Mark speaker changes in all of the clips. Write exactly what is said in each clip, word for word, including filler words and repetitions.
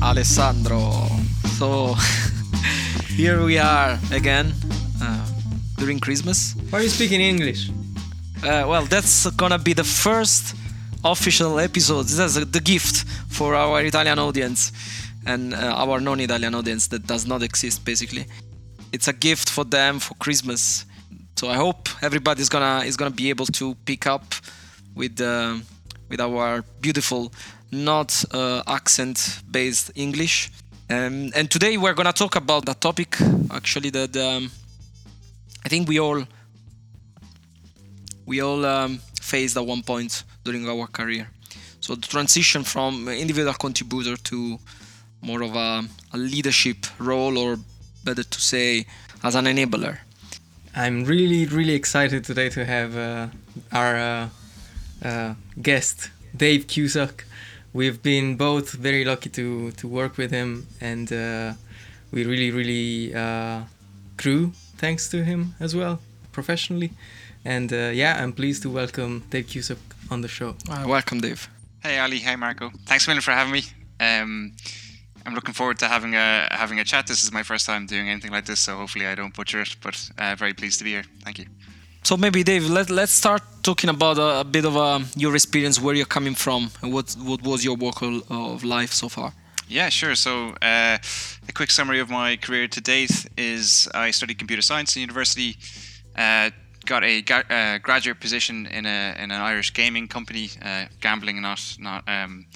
Speaker 1: Alessandro. So here we are again uh, during Christmas.
Speaker 2: Why are you speaking English?
Speaker 1: Uh, well, that's gonna be the first official episode. That's the gift for our Italian audience and uh, our non-Italian audience that does not exist, basically. It's a gift for them for Christmas. So I hope everybody's gonna is gonna be able to pick up with uh, with our beautiful, not uh, accent-based English. Um, and today we're gonna talk about a topic actually that um, I think we all we all um, faced at one point during our career. So the transition from individual contributor to more of a, a leadership role, or better to say, as an enabler.
Speaker 2: I'm really, really excited today to have uh, our uh, uh, guest, Dave Cusack. We've been both very lucky to, to work with him, and uh, we really, really uh, grew thanks to him as well, professionally. And uh, yeah, I'm pleased to welcome Dave Cusack on the show.
Speaker 1: Uh, welcome, Dave.
Speaker 3: Hey, Ali. Hey, Marco. Thanks a million for having me. Um, I'm looking forward to having a having a chat. This is my first time doing anything like this, so hopefully I don't butcher it, but uh, very pleased to be here. Thank you.
Speaker 1: So maybe, Dave, let, let's start talking about a, a bit of uh, your experience, where you're coming from, and what what was your walk of, of life so far.
Speaker 3: Yeah, sure. So uh, a quick summary of my career to date is I studied computer science in university, uh, got a ga- uh, graduate position in a in an Irish gaming company, uh, gambling, not not um,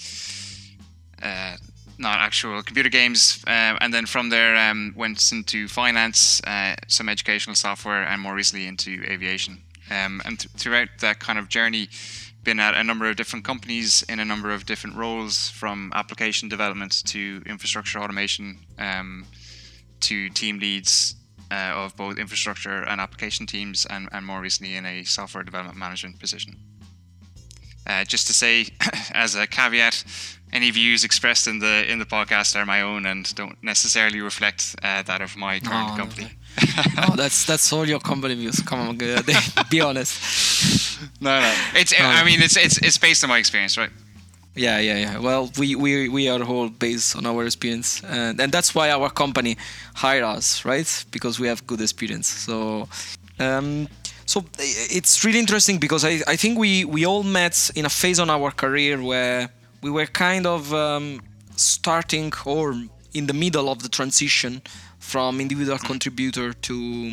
Speaker 3: uh, not actual computer games, uh, and then from there um, went into finance, uh, some educational software, and more recently into aviation. Um, and th- throughout that kind of journey, been at a number of different companies in a number of different roles, from application development to infrastructure automation, um, to team leads uh, of both infrastructure and application teams, and, and more recently in a software development management position. Uh, just to say, as a caveat, any views expressed in the in the podcast are my own and don't necessarily reflect uh, that of my current
Speaker 1: No,
Speaker 3: company.
Speaker 1: No, no, that's that's all your company views. Come on, Dave, be honest.
Speaker 3: No, no. It's.
Speaker 1: No,
Speaker 3: I
Speaker 1: no.
Speaker 3: mean, it's it's it's based on my experience, right?
Speaker 1: Yeah, yeah, yeah. Well, we, we, we are all based on our experience, and, and that's why our company hire us, right? Because we have good experience. So, um, so it's really interesting because I, I think we, we all met in a phase on our career where we were kind of um, starting or in the middle of the transition from individual contributor to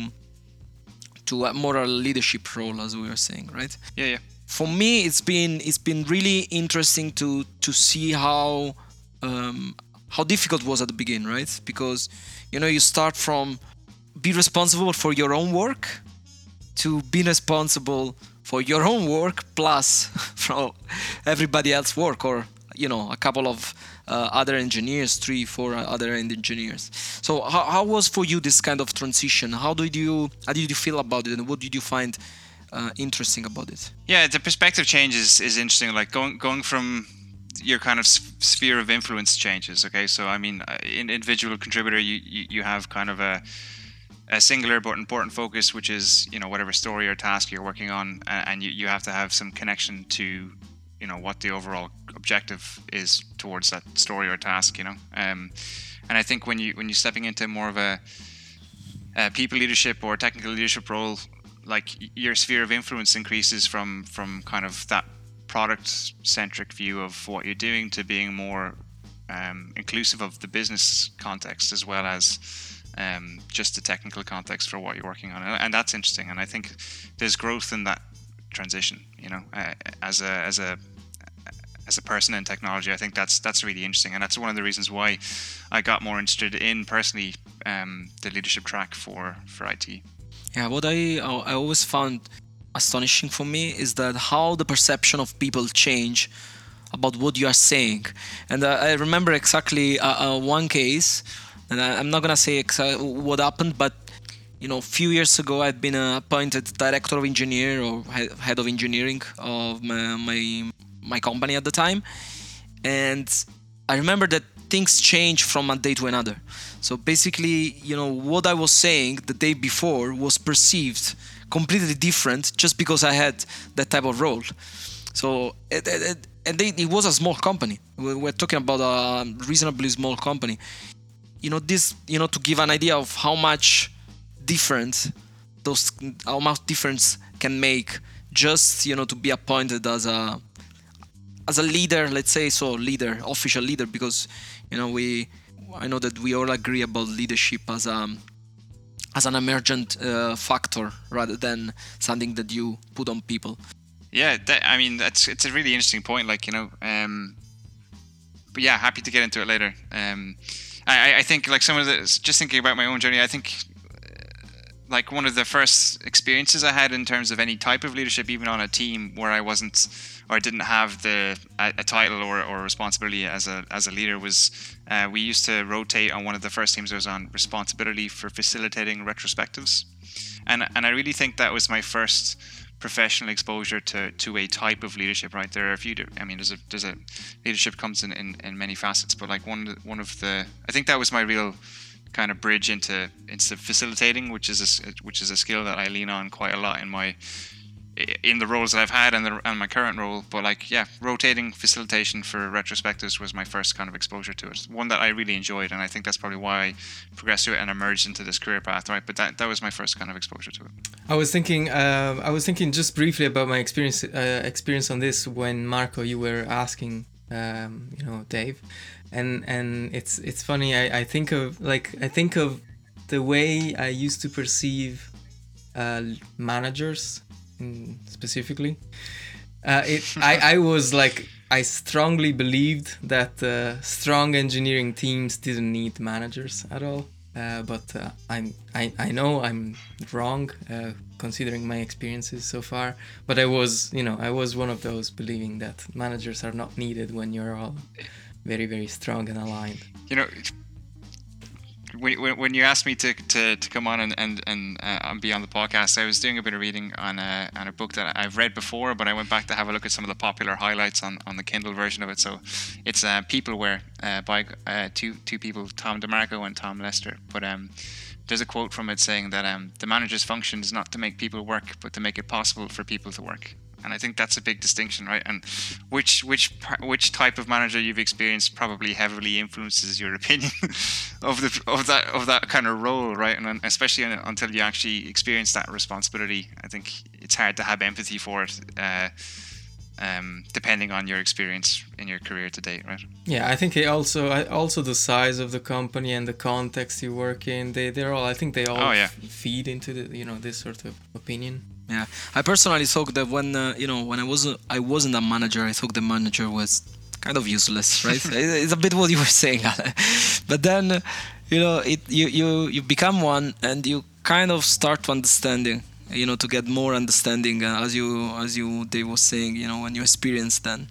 Speaker 1: to a more a leadership role, as we were saying, right?
Speaker 3: Yeah, yeah.
Speaker 1: For me, it's been it's been really interesting to to see how um, how difficult it was at the beginning, right? Because you know you start from be responsible for your own work to be responsible for your own work plus from everybody else's work, or you know a couple of uh, other engineers, three, four other engineers. So how how was for you this kind of transition? How did you how did you feel about it, and what did you find Uh, interesting about it?
Speaker 3: Yeah, the perspective change is, is interesting. Like going going from your kind of sphere of influence changes. Okay, so I mean, in individual contributor, you, you, you have kind of a a singular but important focus, which is you know whatever story or task you're working on, and you, you have to have some connection to you know what the overall objective is towards that story or task. You know, um, and I think when you when you're stepping into more of a, a people leadership or technical leadership role, like your sphere of influence increases from from kind of that product centric view of what you're doing to being more um, inclusive of the business context as well as um, just the technical context for what you're working on, and that's interesting. And I think there's growth in that transition. You know, uh, as a as a as a person in technology, I think that's that's really interesting, and that's one of the reasons why I got more interested in personally um, the leadership track for for I T.
Speaker 1: Yeah, what I I always found astonishing for me is that how the perception of people change about what you are saying. And uh, I remember exactly uh, uh, one case, and I, I'm not gonna say exactly what happened, but you know, a few years ago I'd been uh, appointed director of engineer or head of engineering of my, my my company at the time, and I remember that things change from a day to another. So basically, you know, what I was saying the day before was perceived completely different just because I had that type of role. So it, it, and they, it was a small company. We- We're talking about a reasonably small company. You know, this, you know, to give an idea of how much difference those, how much difference can make just, you know, to be appointed as a, as a leader, let's say so, leader, official leader, because, you know, we, I know that we all agree about leadership as a, as an emergent uh, factor rather than something that you put on people.
Speaker 3: Yeah, that, I mean, that's it's a really interesting point. Like, you know, um, but yeah, happy to get into it later. Um, I, I think like some of the, just thinking about my own journey, I think uh, like one of the first experiences I had in terms of any type of leadership, even on a team where I wasn't or I didn't have the a, a title or, or responsibility as a as a leader was uh, we used to rotate on one of the first teams I was on, responsibility for facilitating retrospectives, and and I really think that was my first professional exposure to to a type of leadership. Right, there are a few. I mean, there's a there's a leadership comes in, in, in many facets, but like one one of the I think that was my real kind of bridge into into facilitating, which is a, which is a skill that I lean on quite a lot in my in the roles that I've had and, the, and my current role. But like, yeah, rotating facilitation for retrospectives was my first kind of exposure to it. One that I really enjoyed, and I think that's probably why I progressed to it and emerged into this career path, right? But that, that was my first kind of exposure to it.
Speaker 2: I was thinking, uh, I was thinking just briefly about my experience, uh, experience on this when Marco, you were asking, um, you know, Dave, and and it's it's funny. I, I think of like I think of the way I used to perceive uh, managers. Specifically, uh, it, I, I was like, I strongly believed that uh, strong engineering teams didn't need managers at all. Uh, but uh, I'm, I, I know I'm wrong, uh, considering my experiences so far. But I was, you know, I was one of those believing that managers are not needed when you're all very, very strong and aligned.
Speaker 3: You know, When, when you asked me to, to, to come on and and, and uh, be on the podcast, I was doing a bit of reading on a on a book that I've read before, but I went back to have a look at some of the popular highlights on, on the Kindle version of it. So it's uh, Peopleware uh, by uh, two two people, Tom DeMarco and Tom Lester. But um, there's a quote from it saying that um, the manager's function is not to make people work, but to make it possible for people to work. And I think that's a big distinction, right? And which which which type of manager you've experienced probably heavily influences your opinion of the of that of that kind of role, right? And especially until you actually experience that responsibility, I think it's hard to have empathy for it, uh, um, depending on your experience in your career to date, right?
Speaker 2: Yeah, I think it also also the size of the company and the context you work in, they they're all I think they all
Speaker 3: oh, yeah.
Speaker 2: f- feed into the you know this sort of opinion.
Speaker 1: Yeah, I personally thought that when uh, you know when I was I wasn't a manager, I thought the manager was kind of useless, right? It's a bit what you were saying, Ale. But then uh, you know it you, you you become one and you kind of start to understanding, you know, to get more understanding uh, as you as you Dave was saying, you know, when you experience then.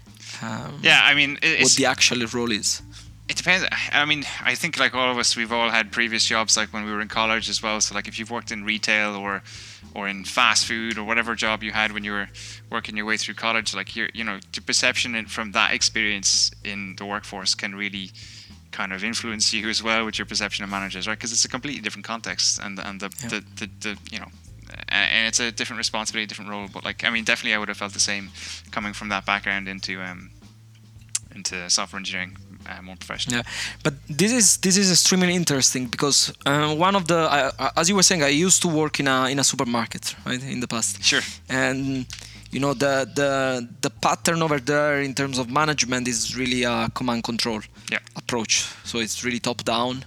Speaker 1: Um,
Speaker 3: yeah, I mean, it's,
Speaker 1: what the actual role is.
Speaker 3: It depends. I mean, I think like all of us, we've all had previous jobs, like when we were in college as well. So like if you've worked in retail or or in fast food or whatever job you had when you were working your way through college, like your you know the perception from that experience in the workforce can really kind of influence you as well with your perception of managers, right? Because it's a completely different context and and the, yeah. the, the the you know and it's a different responsibility, different role. But like I mean, definitely I would have felt the same coming from that background into um into software engineering. Uh, more professional.
Speaker 1: Yeah, but this is this is extremely interesting because uh, one of the uh, as you were saying, I used to work in a in a supermarket, right, in the past.
Speaker 3: Sure.
Speaker 1: And you know the the the pattern over there in terms of management is really a command control
Speaker 3: yeah.
Speaker 1: approach. So it's really top down,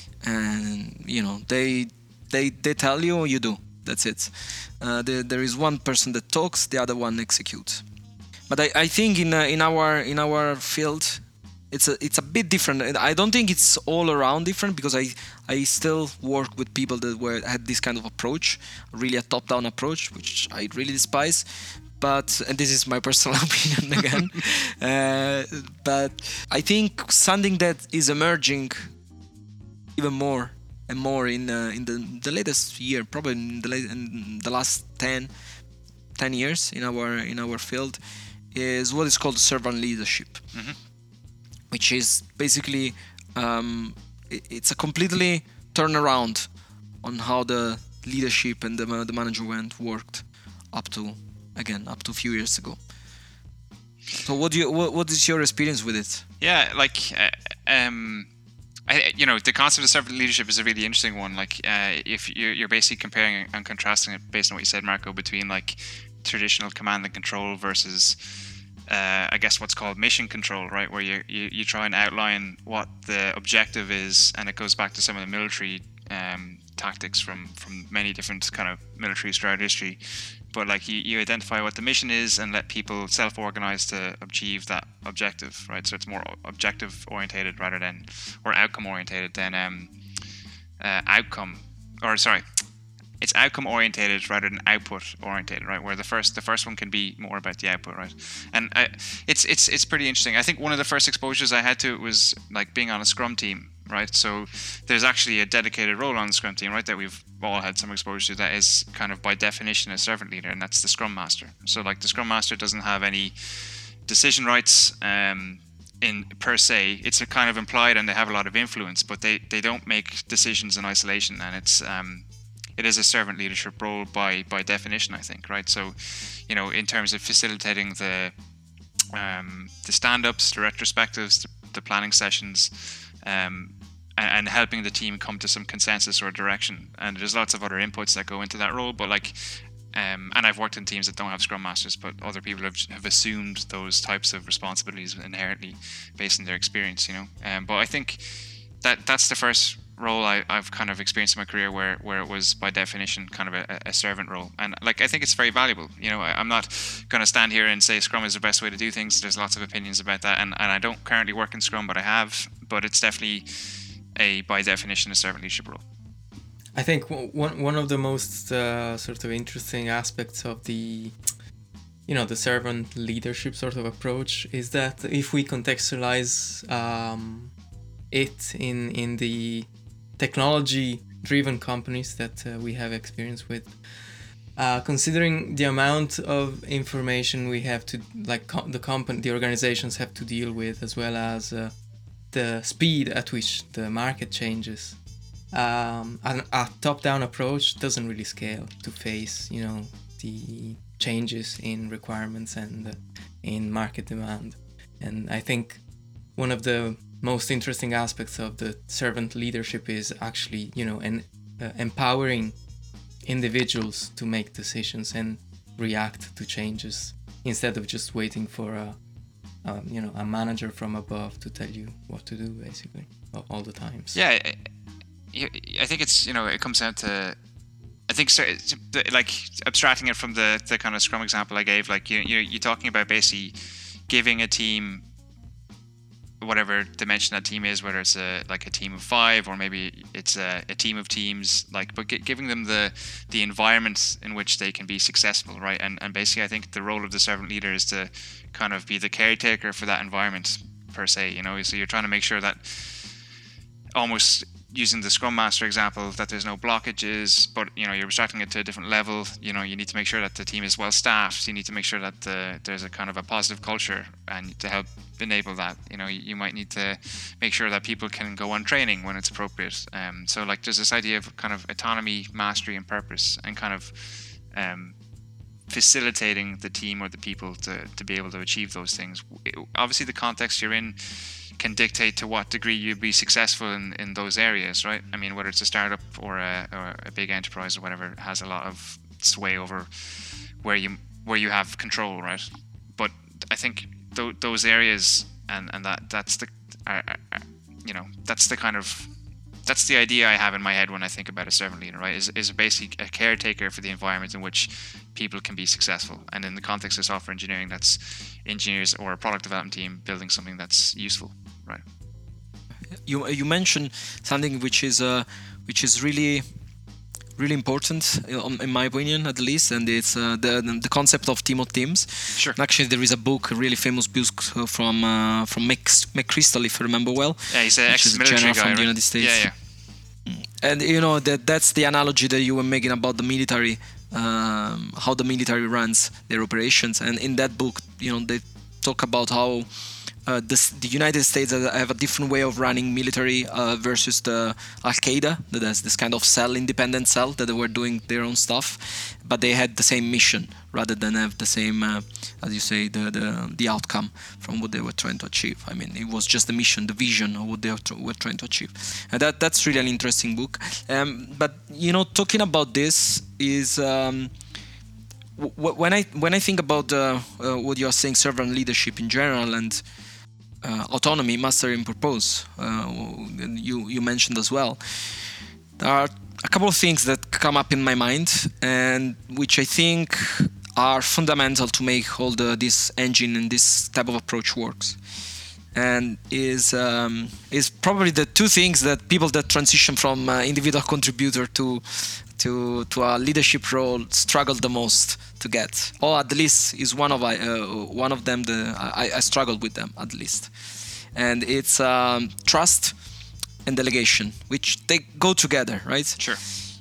Speaker 1: and you know they they they tell you, you do. That's it. Uh, there there is one person that talks, the other one executes. But I, I think in uh, in our in our field. It's a it's a bit different. I don't think it's all around different because I I still work with people that were had this kind of approach, really a top-down approach, which I really despise. But and this is my personal opinion again. uh, but I think something that is emerging even more and more in uh, in the the latest year, probably in the late, in the last ten, ten years in our in our field, is what is called servant leadership. Mm-hmm. Which is basically, um, it's a completely turnaround on how the leadership and the, the management worked up to, again, up to a few years ago. So what do you what, what is your experience with it?
Speaker 3: Yeah, like uh, um, I, you know, the concept of servant leadership is a really interesting one. Like, uh, if you're, you're basically comparing and contrasting it based on what you said, Marco, between like traditional command and control versus, uh, I guess, what's called mission control, right? Where you, you you try and outline what the objective is, and it goes back to some of the military um, tactics from from many different kind of militaries throughout history. But like you, you identify what the mission is and let people self-organize to achieve that objective, right? So it's more objective orientated rather than, or outcome orientated than um, uh, outcome, or sorry, it's outcome orientated rather than output orientated, right? Where the first the first one can be more about the output, right? And I, it's it's it's pretty interesting. I think one of the first exposures I had to it was like being on a Scrum team, right? So there's actually a dedicated role on the Scrum team, right? That we've all had some exposure to, that is kind of by definition a servant leader, and that's the Scrum Master. So like the Scrum Master doesn't have any decision rights um, in per se. It's a kind of implied, and they have a lot of influence, but they, they don't make decisions in isolation, and it's um, it is a servant leadership role by by definition, I think, right? So, you know, in terms of facilitating the um, the stand-ups, the retrospectives, the, the planning sessions, um, and, and helping the team come to some consensus or direction. And there's lots of other inputs that go into that role, but like, um, and I've worked in teams that don't have Scrum Masters, but other people have, have assumed those types of responsibilities inherently based on their experience, you know. Um, but I think that that's the first role I, I've kind of experienced in my career where, where it was by definition kind of a, a servant role. And like, I think it's very valuable. You know, I, I'm not going to stand here and say Scrum is the best way to do things. There's lots of opinions about that. And, and I don't currently work in Scrum, but I have, but it's definitely a, by definition, a servant leadership role.
Speaker 2: I think one one of the most uh, sort of interesting aspects of the, you know, the servant leadership sort of approach is that if we contextualize um, it in in the technology-driven companies that uh, we have experience with, uh, considering the amount of information we have to, like com- the company, the organizations have to deal with, as well as uh, the speed at which the market changes. Um, an, a top-down approach doesn't really scale to face, you know, the changes in requirements and uh, in market demand. And I think one of the most interesting aspects of the servant leadership is actually, you know, and uh, empowering individuals to make decisions and react to changes instead of just waiting for a, a you know, a manager from above to tell you what to do, basically, all the times.
Speaker 3: Yeah. I, I think it's, you know, it comes down to, I think, so, like, abstracting it from the, the kind of Scrum example I gave, like, you, you, you're talking about basically giving a team whatever dimension that team is, whether it's a like a team of five or maybe it's a, a team of teams, like, but g- giving them the the environment in which they can be successful, right? And and basically, I think the role of the servant leader is to kind of be the caretaker for that environment per se, you know. So you're trying to make sure that, almost using the Scrum Master example, that there's no blockages, but, you know, you're abstracting it to a different level. You know, you need to make sure that the team is well staffed. You need to make sure that the, there's a kind of a positive culture, and to help enable that, you know, you, you might need to make sure that people can go on training when it's appropriate. Um, so like there's this idea of kind of autonomy, mastery, and purpose, and kind of um, facilitating the team or the people to, to be able to achieve those things. Obviously, the context you're in can dictate to what degree you'll be successful in, in those areas, right? I mean, whether it's a startup or a, or a big enterprise or whatever, it has a lot of sway over where you where you have control, right? But I think th- those areas and, and that that's the uh, uh, you know that's the kind of that's the idea I have in my head when I think about a servant leader, right? Is is basically a caretaker for the environment in which people can be successful. And in the context of software engineering, that's engineers or a product development team building something that's useful, right?
Speaker 1: You you mentioned something which is uh, which is really really important, in my opinion, at least, and it's uh, the the concept of team of teams.
Speaker 3: Sure.
Speaker 1: And actually, there is a book, a really famous book from uh, from McChrystal, if I remember well.
Speaker 3: Yeah, he's an ex-military
Speaker 1: guy,
Speaker 3: guy,
Speaker 1: from
Speaker 3: right?
Speaker 1: the United States.
Speaker 3: Yeah, yeah.
Speaker 1: And you know that that's the analogy that you were making about the military, um, how the military runs their operations. And in that book, you know, they talk about how uh, the, the United States have a different way of running military uh, versus the Al-Qaeda, that has this kind of cell, independent cell, that they were doing their own stuff, but they had the same mission rather than have the same, uh, as you say, the, the the outcome from what they were trying to achieve. I mean, it was just the mission, the vision of what they were trying to achieve. And that that's really an interesting book. Um, but, you know, talking about this is... Um, when I when I think about uh, uh, what you are saying, servant leadership in general, and uh, autonomy, mastery, and purpose, uh, you you mentioned as well, there are a couple of things that come up in my mind, and which I think are fundamental to make all the this engine and this type of approach works. And is um, is probably the two things that people that transition from uh, individual contributor to to to a leadership role struggle the most to get, or at least is one of I uh, one of them. The I, I struggled with them at least, and it's um, trust and delegation, which they go together, right?
Speaker 3: Sure.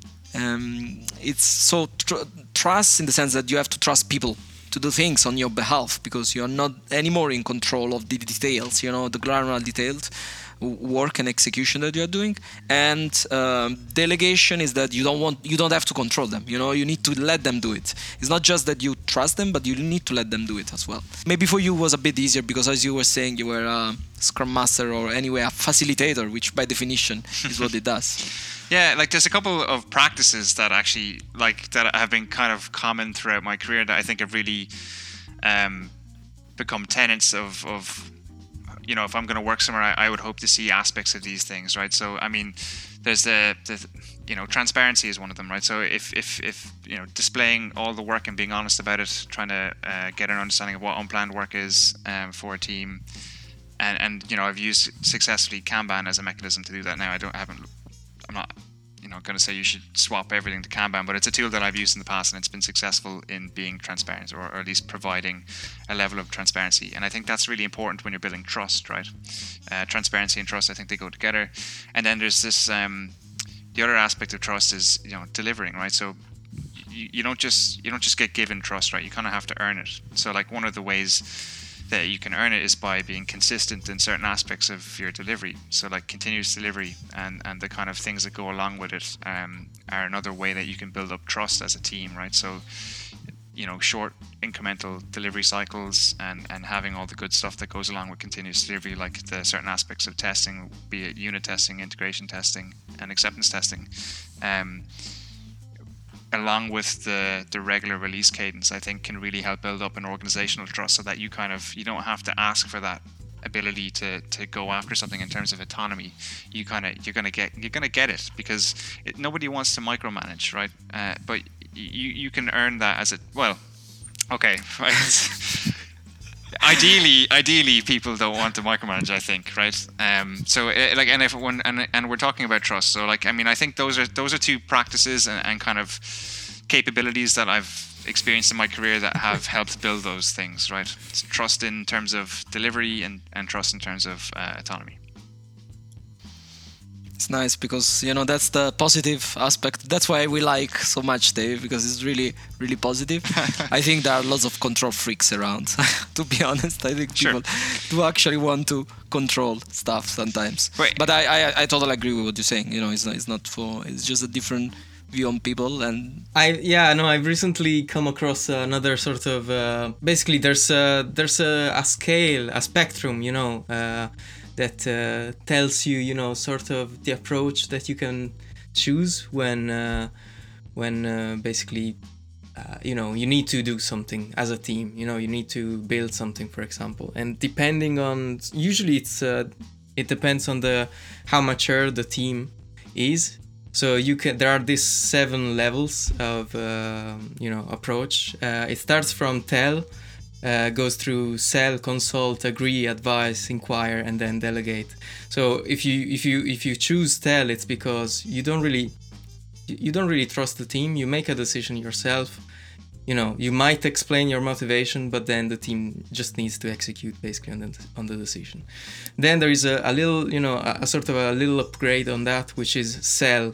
Speaker 1: Um, it's so tr- trust in the sense that you have to trust people to do things on your behalf, because you're not anymore in control of the details, you know, the granular detailed work and execution that you're doing. And um, delegation is that you don't want, you don't have to control them, you know, you need to let them do it. It's not just that you trust them, but you need to let them do it as well. Maybe for you it was a bit easier because, as you were saying, you were a Scrum Master, or anyway a facilitator, which by definition is what it does.
Speaker 3: Yeah, like there's a couple of practices that actually like that have been kind of common throughout my career that I think have really um, become tenets of, of, you know, if I'm going to work somewhere, I, I would hope to see aspects of these things, right? So, I mean, there's the, the, you know, transparency is one of them, right? So if, if, if you know, displaying all the work and being honest about it, trying to uh, get an understanding of what unplanned work is um, for a team. And, and, you know, I've used successfully Kanban as a mechanism to do that now. I don't, I haven't, I'm not, you know, going to say you should swap everything to Kanban, but it's a tool that I've used in the past, and it's been successful in being transparent, or, or at least providing a level of transparency. And I think that's really important when you're building trust, right? Uh, transparency and trust, I think they go together. And then there's this, um, the other aspect of trust is, you know, delivering, right? So you, you don't just you don't just get given trust, right? You kind of have to earn it. So like one of the ways that you can earn it is by being consistent in certain aspects of your delivery. So like continuous delivery and, and the kind of things that go along with it um, are another way that you can build up trust as a team, right? So, you know, short incremental delivery cycles and, and having all the good stuff that goes along with continuous delivery, like the certain aspects of testing, be it unit testing, integration testing, and acceptance testing. Um, along with the the regular release cadence, I think can really help build up an organizational trust, so that you kind of you don't have to ask for that ability to to go after something in terms of autonomy. You kind of you're gonna get you're gonna get it because it, nobody wants to micromanage, right? Uh, but you you can earn that as a well. Okay, right. Ideally, ideally, people don't want to micromanage, I think, right? Um, so, uh, like, and if when and and we're talking about trust, so like, I mean, I think those are those are two practices and, and kind of capabilities that I've experienced in my career that have helped build those things, right? So trust in terms of delivery and and trust in terms of uh, autonomy.
Speaker 1: It's nice because, you know, that's the positive aspect. That's why we like so much Dave, because it's really, really positive. I think there are lots of control freaks around, to be honest. I think
Speaker 3: Sure.
Speaker 1: people do actually want to control stuff sometimes.
Speaker 3: Wait.
Speaker 1: But I, I, I totally agree with what you're saying. You know, it's not, it's not for, it's just a different view on people. And
Speaker 2: I yeah no I've recently come across another sort of uh, basically there's a there's a, a scale, a spectrum, you know, uh, that uh, tells you, you know, sort of the approach that you can choose when uh, when uh, basically uh, you know, you need to do something as a team, you know, you need to build something, for example. And depending on, usually it's uh, it depends on the how mature the team is. So you can there are these seven levels of uh, you know, approach. Uh, it starts from tell, uh, goes through sell, consult, agree, advise, inquire, and then delegate. So if you if you if you choose tell, it's because you don't really you don't really trust the team. You make a decision yourself. You know, you might explain your motivation, but then the team just needs to execute basically on the, on the decision. Then there is a, a little, you know, a, a sort of a little upgrade on that, which is sell,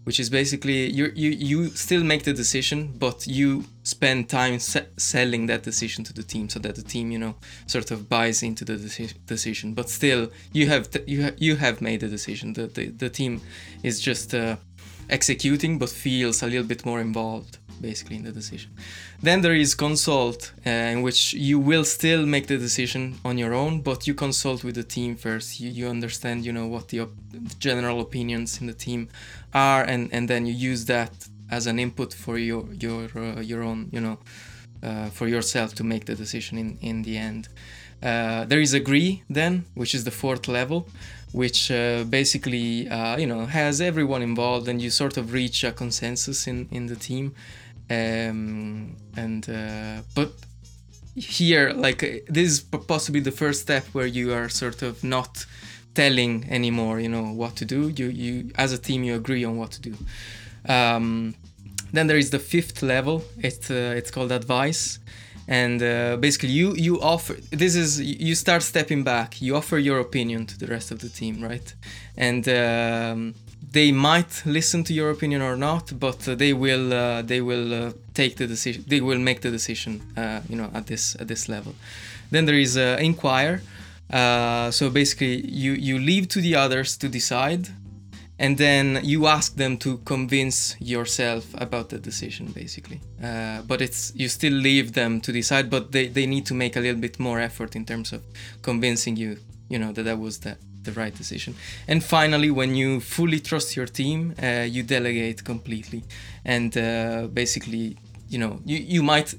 Speaker 2: which is basically you you you still make the decision, but you spend time se- selling that decision to the team, so that the team, you know, sort of buys into the deci- decision. But still, you have t- you ha- you have made the decision. The the, the team is just uh, executing, but feels a little bit more involved, basically, in the decision. Then there is consult, uh, in which you will still make the decision on your own, but you consult with the team first. You, you understand, you know, what the, op- the general opinions in the team are, and, and then you use that as an input for your your uh, your own, you know, uh, for yourself to make the decision in in the end. Uh, there is agree then, which is the fourth level, which uh, basically uh, you know, has everyone involved, and you sort of reach a consensus in in the team. Um, and uh, but here, like, uh, this is p- possibly the first step where you are sort of not telling anymore, you know, what to do. You you as a team, you agree on what to do. Um, then there is the fifth level. It's uh, it's called advice, and uh, basically you you offer. This is you start stepping back. You offer your opinion to the rest of the team, right? And um, they might listen to your opinion or not, but uh, they will uh, they will uh, take the decision. They will make the decision, uh, you know, at this at this level. Then there is uh, inquire. Uh, so basically, you you leave to the others to decide, and then you ask them to convince yourself about the decision, basically. Uh, but it's you still leave them to decide, but they, they need to make a little bit more effort in terms of convincing you, you know, that that was the, the right decision. And finally, when you fully trust your team, uh, you delegate completely. And uh, basically, you know, you, you might...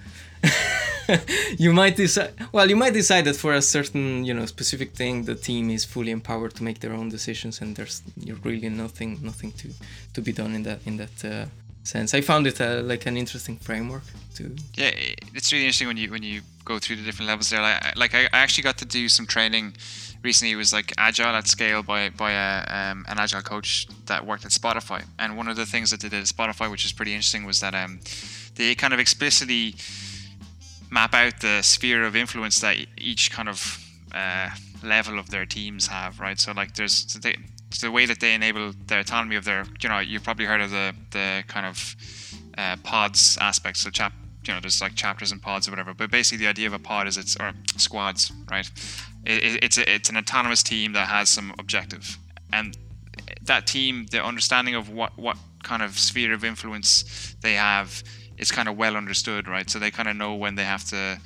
Speaker 2: you might decide well you might decide that for a certain, you know, specific thing, the team is fully empowered to make their own decisions, and there's you're really nothing nothing to to be done in that in that uh, sense. I found it uh, like an interesting framework to
Speaker 3: yeah it's really interesting when you when you go through the different levels there. Like, like I actually got to do some training recently. It was like Agile at Scale by by a, um, an Agile coach that worked at Spotify, and one of the things that they did at Spotify, which is pretty interesting, was that um they kind of explicitly map out the sphere of influence that each kind of uh, level of their teams have, right? So like there's so they, so the way that they enable the autonomy of their, you know, you've probably heard of the the kind of uh, pods aspect. So chap, you know, there's like chapters and pods or whatever. But basically, the idea of a pod is it's or squads, right? It, it's a, it's an autonomous team that has some objective, and that team, the understanding of what what kind of sphere of influence they have, it's kind of well understood, right? So they kind of know when they have to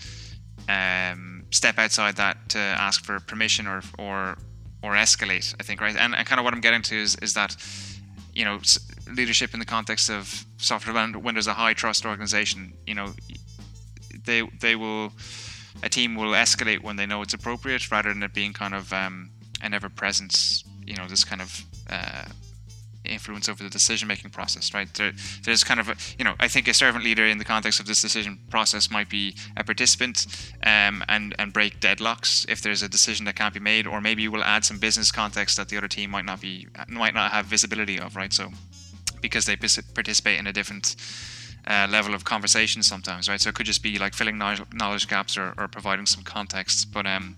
Speaker 3: um, step outside that to ask for permission or or or escalate, I think, right? And, and kind of what I'm getting to is is that, you know, leadership in the context of software development, when there's a high trust organization, you know, they they will a team will escalate when they know it's appropriate, rather than it being kind of um, an ever-present, you know, this kind of uh, influence over the decision-making process, right? There, there's kind of a, you know, I think a servant leader in the context of this decision process might be a participant um, and and break deadlocks if there's a decision that can't be made, or maybe you will add some business context that the other team might not be might not have visibility of, right? So because they participate in a different uh, level of conversation sometimes, right? So it could just be like filling knowledge, knowledge gaps or, or providing some context, but um.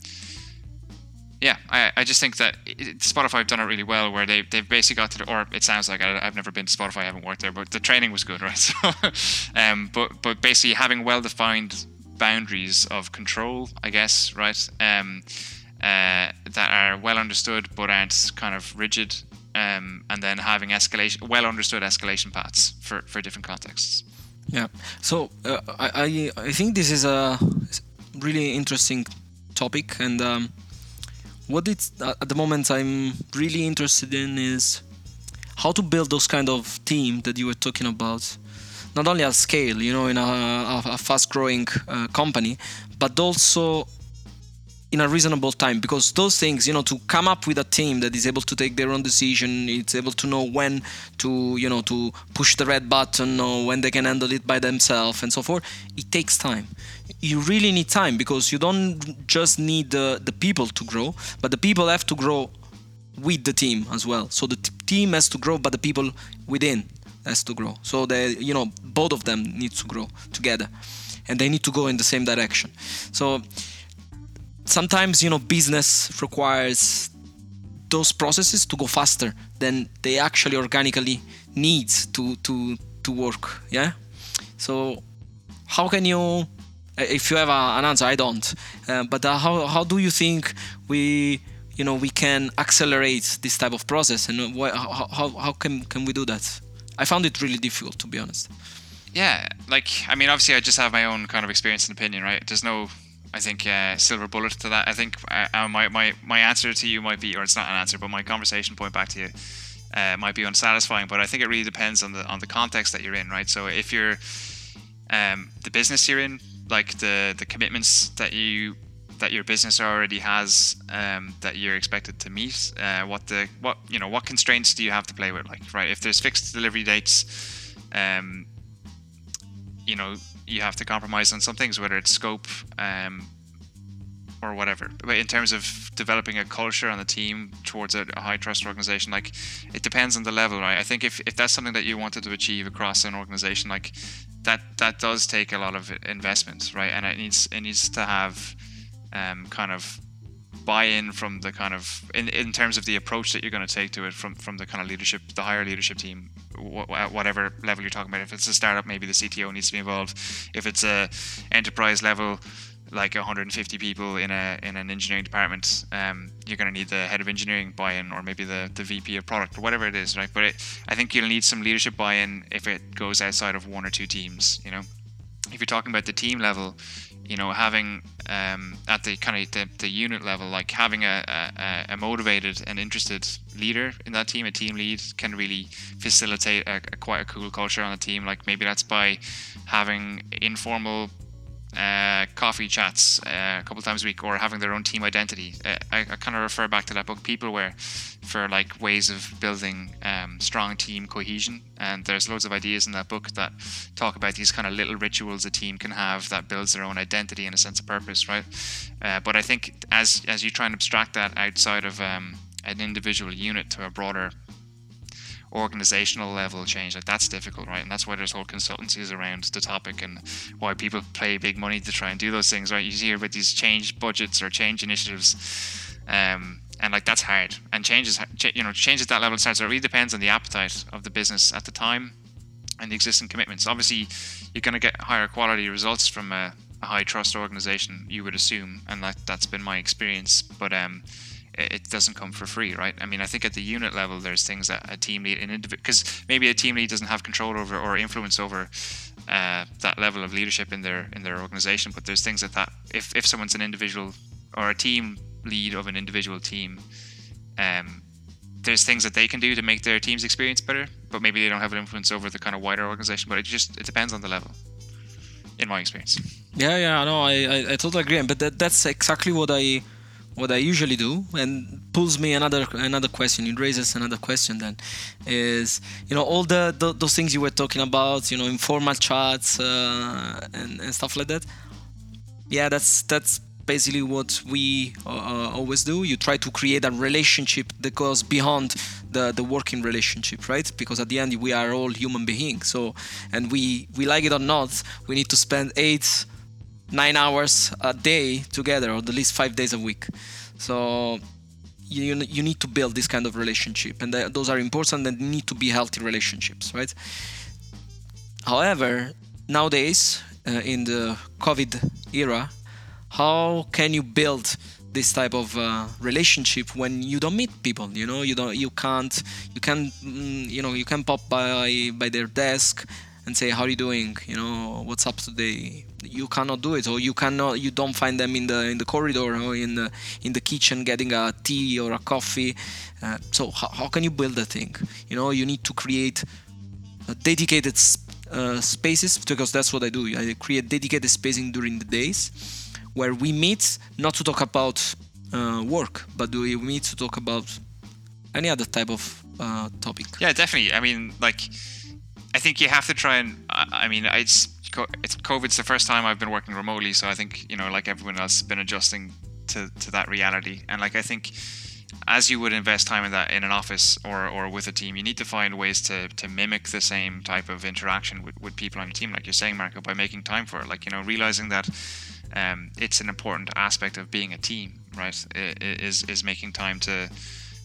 Speaker 3: Yeah, I, I just think that it, Spotify have done it really well, where they, they've basically got to, the, or it sounds like, I, I've never been to Spotify, I haven't worked there, but the training was good, right? So, um, but but basically having well-defined boundaries of control, I guess, right? Um, uh, that are well understood but aren't kind of rigid, um, and then having escalation, well-understood escalation paths for, for different contexts.
Speaker 1: Yeah, so uh, I, I I think this is a really interesting topic, and um, what it's at the moment I'm really interested in is how to build those kind of team that you were talking about, not only at scale, you know, in a, a fast-growing uh, company, but also in a reasonable time, because those things, you know, to come up with a team that is able to take their own decision, it's able to know when to, you know, to push the red button or when they can handle it by themselves and so forth, it takes time. You really need time, because you don't just need the, the people to grow, but the people have to grow with the team as well. So the t- team has to grow, but the people within has to grow. So they, you know, both of them need to grow together, and they need to go in the same direction. So sometimes, you know, business requires those processes to go faster than they actually organically need to to to work. Yeah. So how can you, if you have a, an answer, I don't, uh, but uh, how how do you think we you know we can accelerate this type of process, and why, how how how can can we do that? I found it really difficult, to be honest.
Speaker 3: Yeah, like I mean, obviously, I just have my own kind of experience and opinion, right? There's no, I think, uh, silver bullet to that. I think uh, my my my answer to you might be, or it's not an answer, but my conversation point back to you uh, might be unsatisfying. But I think it really depends on the on the context that you're in, right? So if you're um, the business you're in, like the the commitments that you that your business already has, um, that you're expected to meet, uh, what the what you know what constraints do you have to play with, like, right? If there's fixed delivery dates, um, you know you have to compromise on some things, whether it's scope um, or whatever. But in terms of developing a culture on the team towards a, a high trust organization, like, it depends on the level, right? I think if, if that's something that you wanted to achieve across an organization, like that that does take a lot of investment, right? And it needs it needs to have um, kind of buy-in from the kind of in, in terms of the approach that you're going to take to it from from the kind of leadership, the higher leadership team, wh- whatever level you're talking about. If it's a startup, maybe the C T O needs to be involved. If it's a enterprise level, like one hundred fifty people in a in an engineering department, um, you're going to need the head of engineering buy-in, or maybe the, the V P of product, or whatever it is, right? But it, I think you'll need some leadership buy-in if it goes outside of one or two teams. You know, if you're talking about the team level, you know, having um, at the kind of the, the unit level, like having a, a, a motivated and interested leader in that team, a team lead, can really facilitate a, a quite a cool culture on the team. Like maybe that's by having informal uh, coffee chats uh, a couple times a week, or having their own team identity. Uh, I, I kind of refer back to that book, Peopleware, for like ways of building um, strong team cohesion. And there's loads of ideas in that book that talk about these kind of little rituals a team can have that builds their own identity and a sense of purpose, right? Uh, but I think as as you try and abstract that outside of um, an individual unit to a broader organizational level change, like that's difficult, right? And that's why there's whole consultancies around the topic, and why people pay big money to try and do those things, right? You hear about these change budgets or change initiatives, um, and like that's hard. And changes, you know, change at that level starts. So it really depends on the appetite of the business at the time and the existing commitments. Obviously, you're going to get higher quality results from a, a high trust organization, you would assume, and that that's been my experience. But um. it doesn't come for free, right? I mean, I think at the unit level, there's things that a team lead, an individual, because maybe a team lead doesn't have control over or influence over uh, that level of leadership in their in their organization. But there's things that that if if someone's an individual or a team lead of an individual team, um, there's things that they can do to make their team's experience better. But maybe they don't have an influence over the kind of wider organization. But it just it depends on the level, in my experience.
Speaker 1: Yeah, yeah, no, I I, I totally agree. But that, that's exactly what I. what I usually do, and pulls me another another question. It raises another question. Then is, you know, all the, the those things you were talking about, you know, informal chats uh, and, and stuff like that. Yeah, that's that's basically what we uh, always do. You try to create a relationship that goes beyond the the working relationship, right? Because at the end we are all human beings. So, and we we like it or not, we need to spend eight. nine hours a day together, or at least five days a week. So you you need to build this kind of relationship, and th- those are important and need to be healthy relationships, right? However, nowadays uh, in the COVID era, how can you build this type of uh, relationship when you don't meet people? You know, you don't, you can't, you can, mm, you know, you can pop by by their desk and say, how are you doing? You know, what's up today? You cannot do it, or you cannot. You don't find them in the in the corridor or in the in the kitchen getting a tea or a coffee. Uh, so how, how can you build a thing? You know, you need to create a dedicated uh, spaces, because that's what I do. I create dedicated spacing during the days where we meet, not to talk about uh, work, but we meet to talk about any other type of uh, topic.
Speaker 3: Yeah, definitely. I mean, like, I think you have to try and, I mean, it's, it's COVID's the first time I've been working remotely, so I think, you know, like everyone else, been adjusting to, to that reality. And like, I think as you would invest time in that in an office or, or with a team, you need to find ways to, to mimic the same type of interaction with, with people on your team, like you're saying, Marco, by making time for it. Like, you know, realizing that um, it's an important aspect of being a team, right? Is is making time to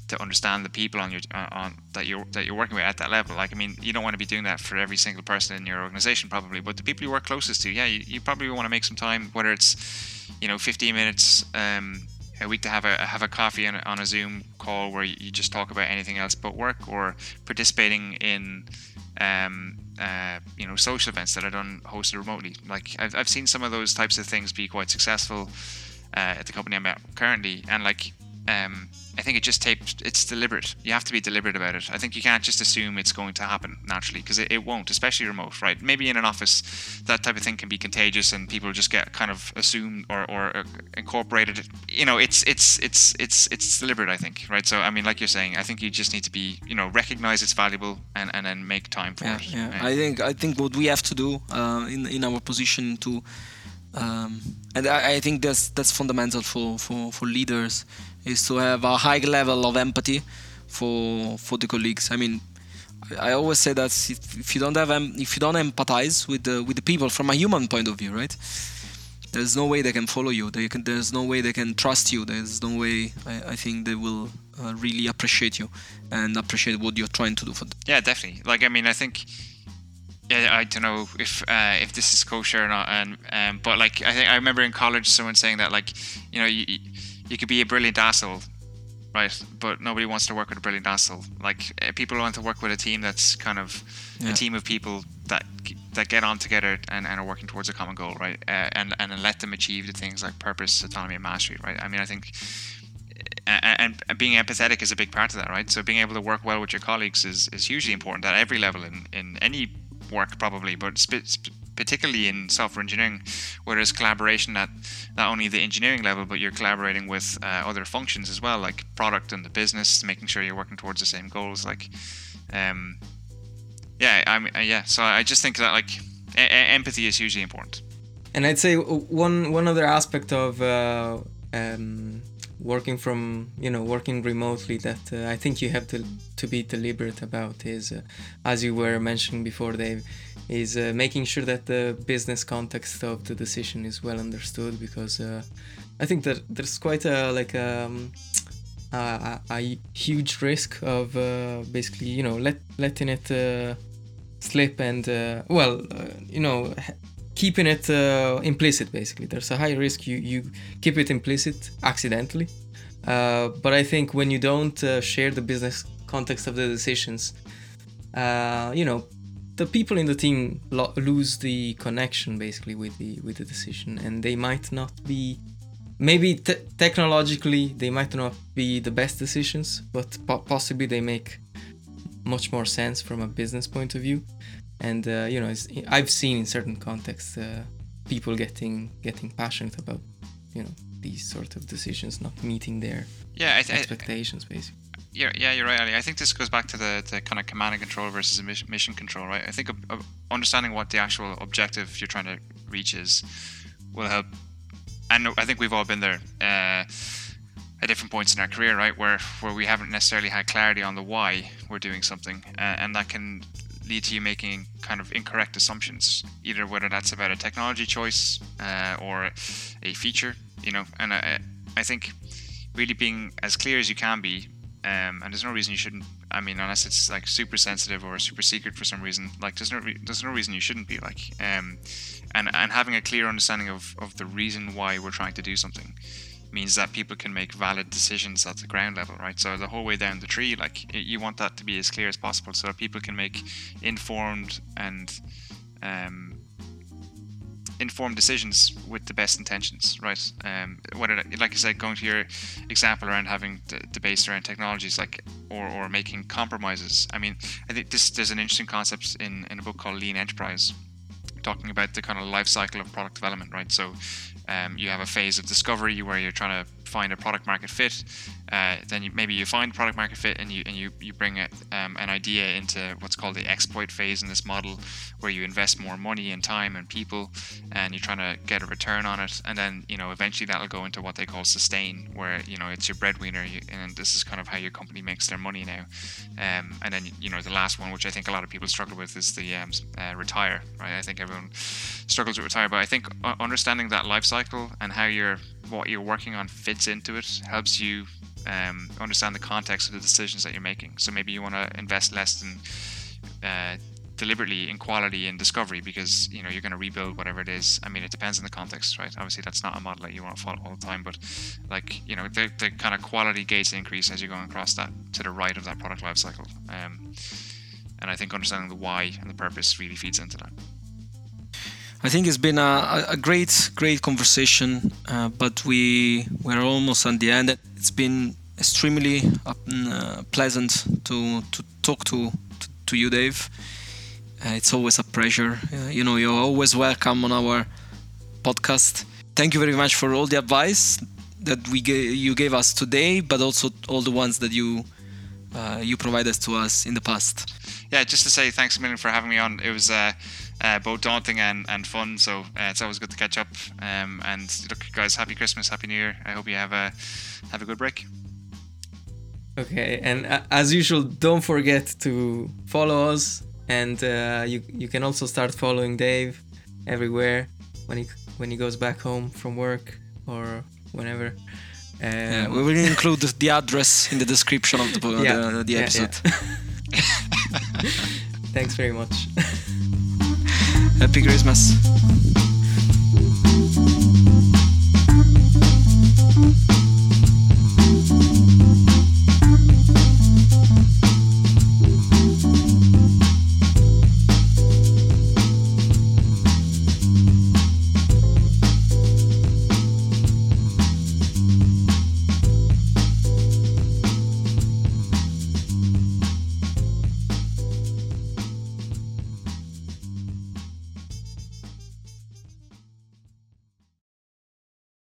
Speaker 3: to understand the people on your uh, on that you're that you're working with at that level. Like, I mean, you don't want to be doing that for every single person in your organization probably, but the people you work closest to, yeah, you, you probably want to make some time, whether it's, you know, fifteen minutes um, a week to have a have a coffee on a, on a Zoom call where you just talk about anything else but work, or participating in um, uh, you know, social events that are done hosted remotely. Like, I've I've seen some of those types of things be quite successful uh, at the company I'm at currently, and like. Um, I think it just takes, it's deliberate. You have to be deliberate about it. I think you can't just assume it's going to happen naturally, because it, it won't, especially remote, right? Maybe in an office, that type of thing can be contagious and people just get kind of assumed or, or uh, incorporated. You know, it's it's it's it's it's deliberate, I think, right? So, I mean, like you're saying, I think you just need to be, you know, recognize it's valuable and, and then make time for
Speaker 1: yeah,
Speaker 3: it.
Speaker 1: Yeah,
Speaker 3: yeah.
Speaker 1: I think I think what we have to do uh, in in our position to, um, and I, I think that's that's fundamental for, for, for leaders, is to have a high level of empathy for for the colleagues. I mean, I, I always say that if, if you don't have em- if you don't empathize with the with the people from a human point of view, right? There's no way they can follow you. They can. There's no way they can trust you. There's no way I, I think they will uh, really appreciate you and appreciate what you're trying to do for them.
Speaker 3: Yeah, definitely. Like, I mean, I think. Yeah, I don't know if uh, if this is kosher or not, and um, but like I think I remember in college someone saying that, like, you know, you you could be a brilliant asshole, right? But nobody wants to work with a brilliant asshole. Like, uh, people want to work with a team that's kind of yeah. a team of people that that get on together and, and are working towards a common goal, right? Uh, and and let them achieve the things like purpose, autonomy, and mastery, right? I mean, I think. And, and being empathetic is a big part of that, right? So being able to work well with your colleagues is, is hugely important at every level in, in any work probably, but sp- sp- particularly in software engineering, where there's collaboration at not only the engineering level, but you're collaborating with uh, other functions as well, like product and the business, making sure you're working towards the same goals. Like, um, yeah, I mean, uh, yeah. So I just think that like e- empathy is hugely important.
Speaker 2: And I'd say one one other aspect of uh, um, working from, you know, working remotely that uh, I think you have to to be deliberate about is, uh, as you were mentioning before, Dave, is uh, making sure that the business context of the decision is well understood, because uh, I think that there's quite a like um, a, a huge risk of uh, basically, you know, let letting it uh, slip and uh, well, uh, you know. keeping it uh, implicit. Basically, there's a high risk you you keep it implicit accidentally, uh, but I think when you don't uh, share the business context of the decisions, uh, you know, the people in the team lo- lose the connection basically with the with the decision, and they might not be, maybe te- technologically they might not be the best decisions, but po- possibly they make much more sense from a business point of view. And uh, you know, it's, I've seen in certain contexts uh, people getting getting passionate about, you know, these sort of decisions not meeting their
Speaker 3: yeah, I th-
Speaker 2: expectations, basically.
Speaker 3: Yeah, yeah, you're right, Ali. I think this goes back to the, the kind of command and control versus mission control, right? I think uh, uh, understanding what the actual objective you're trying to reach is will help. And I think we've all been there uh, at different points in our career, right, where where we haven't necessarily had clarity on the why we're doing something, uh, and that can lead to you making kind of incorrect assumptions, either whether that's about a technology choice uh, or a feature, you know. And I, I think really being as clear as you can be, um, and there's no reason you shouldn't. I mean, unless it's like super sensitive or super secret for some reason, like there's no re- there's no reason you shouldn't be like, um, and and having a clear understanding of of the reason why we're trying to do something means that people can make valid decisions at the ground level, right? So the whole way down the tree, like, you want that to be as clear as possible so that people can make informed and um, informed decisions with the best intentions, right? Um, whether, like I said, going to your example around having d- debates around technologies, like, or, or making compromises. I mean, I think this there's an interesting concept in, in a book called Lean Enterprise, talking about the kind of life cycle of product development, right? So um, you have a phase of discovery where you're trying to find a product market fit. Uh, then you, maybe you find product market fit and you and you, you bring a, um, an idea into what's called the exploit phase in this model, where you invest more money and time and people, and you're trying to get a return on it. And then, you know, eventually that'll go into what they call sustain, where, you know, it's your breadwinner, you, and this is kind of how your company makes their money now. Um, and then, you know, the last one, which I think a lot of people struggle with, is the um, uh, retire, right? I think everyone struggles with retire, but I think understanding that life cycle and how you're what you're working on fits fits into it, helps you um, understand the context of the decisions that you're making. So maybe you want to invest less than uh, deliberately in quality and discovery because you know you're going to rebuild whatever it is. I mean, it depends on the context, right? Obviously, that's not a model that you want to follow all the time, but like you know, the, the kind of quality gates increase as you're going across that to the right of that product life cycle. Um, and I think understanding the why and the purpose really feeds into that.
Speaker 1: I think it's been a, a great, great conversation, uh, but we we're almost at the end. It's been extremely uh, pleasant to to talk to to, to you, Dave. Uh, it's always a pleasure. Uh, you know, you're always welcome on our podcast. Thank you very much for all the advice that we ga- you gave us today, but also all the ones that you uh, you provided to us in the past.
Speaker 3: Yeah, just to say thanks a million for having me on. It was uh, uh, both daunting and, and fun, so uh, it's always good to catch up. Um, and look, guys, happy Christmas, happy New Year. I hope you have a have a good break.
Speaker 2: Okay, and uh, as usual, don't forget to follow us. And uh, you you can also start following Dave everywhere when he when he goes back home from work or whenever. Um,
Speaker 1: yeah, we will include the address in the description of the
Speaker 2: yeah,
Speaker 1: the, the
Speaker 2: yeah,
Speaker 1: episode.
Speaker 2: Yeah. Thanks very much.
Speaker 1: Happy Christmas.